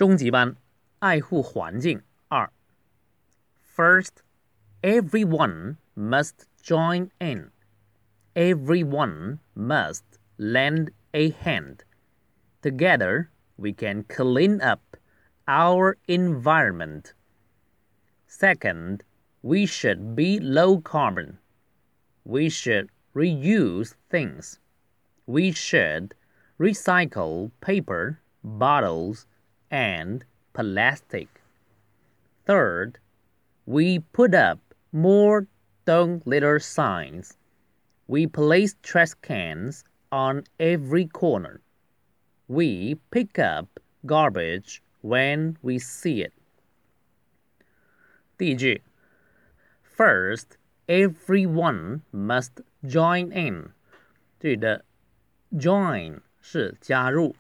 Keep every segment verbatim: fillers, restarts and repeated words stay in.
中级班爱护环境二 First, everyone must join in. Everyone must lend a hand. Together, we can clean up our environment. Second, we should be low carbon. We should reuse things. We should recycle paper, bottles, and plastic. Third, we put up more don't litter signs. We place trash cans on every corner. We pick up garbage when we see it. 第一句 First, everyone must join in. 这里的 join 是加入。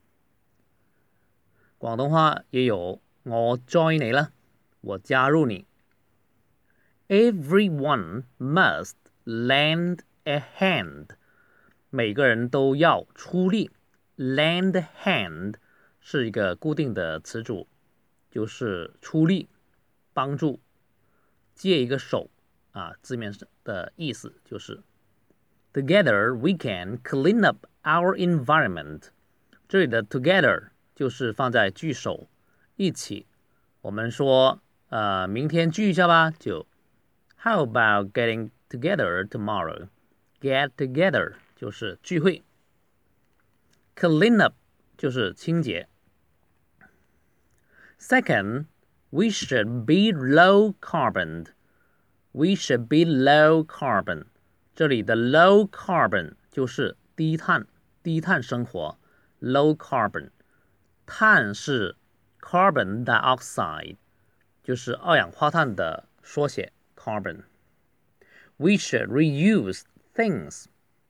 广东话也有我 join 你啦，我加入你。Everyone must lend a hand. 每个人都要出力。Lend a hand 是一个固定的词组，就是出力、帮助、借一个手啊，字面的意思就是 Together we can clean up our environment. 这里的 together 就是放在句首一起。我们说呃，明天聚一下吧，就 How about getting together tomorrow? Get together 就是聚会。Clean up 就是清洁。Second, we should be low carbon. We should be low carbon. 这里的 low carbon 就是低碳，低碳生活。Low carbon， 碳是 carbon dioxide， 就是二氧化碳的缩写 carbon。We should reuse things.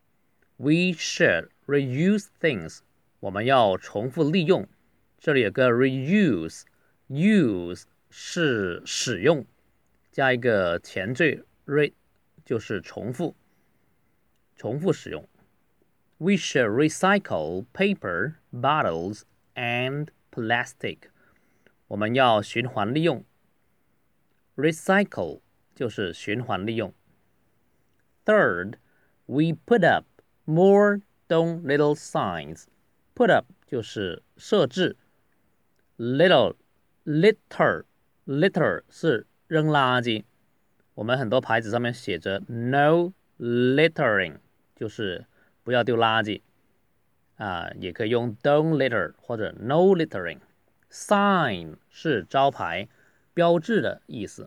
We should reuse things. 我们要重复利用。这里有个 reuse， use 是使用，加一个前缀 re 就是重复，重复使用。We should recycle paper, bottles, and plastic. 我们要循环利用。Recycle 就是循环利用。Third, we put up more don't little signs. Put up 就是设置。Little, litter, litter 是扔垃圾。我们很多牌子上面写着 no littering， 就是不要丢垃圾啊，也可以用 don't litter 或者 no littering。Sign 是招牌、标志的意思。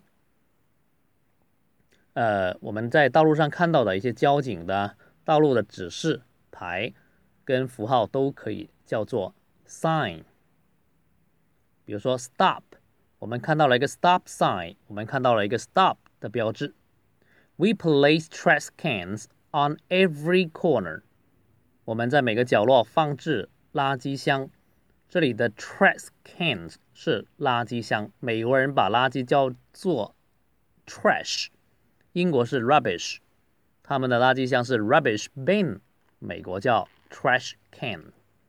呃，我们在道路上看到的一些交警的道路的指示牌跟符号都可以叫做 sign。比如说 stop， 我们看到了一个 stop sign， 我们看到了一个 stop 的标志。We place trash cans on every corner. 我们在每个角落放置垃圾箱。这里的 trash cans 是垃圾箱，美国人把垃圾叫做 trash， 英国是 rubbish， 他们的垃圾箱是 rubbish bin， 美国叫 trash can。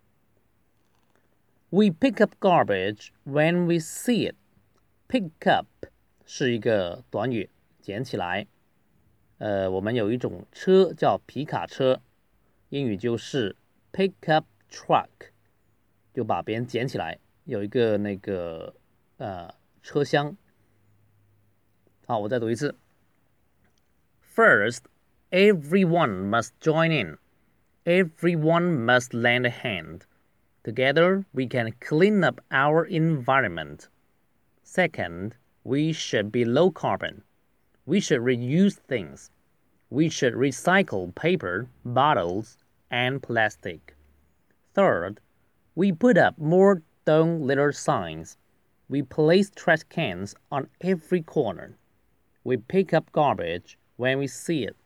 We pick up garbage when we see it. Pick up 是一个短语，捡起来。呃，我们有一种车叫皮卡车，英语就是 pick up truck， 就把别人捡起来，有一个那个呃车厢。好，我再读一次。First, everyone must join in. Everyone must lend a hand. Together, we can clean up our environment. Second, we should be low carbon. We should reuse things. We should recycle paper, bottles, and plastic. Third, we put up more don't litter signs. We place trash cans on every corner. We pick up garbage when we see it.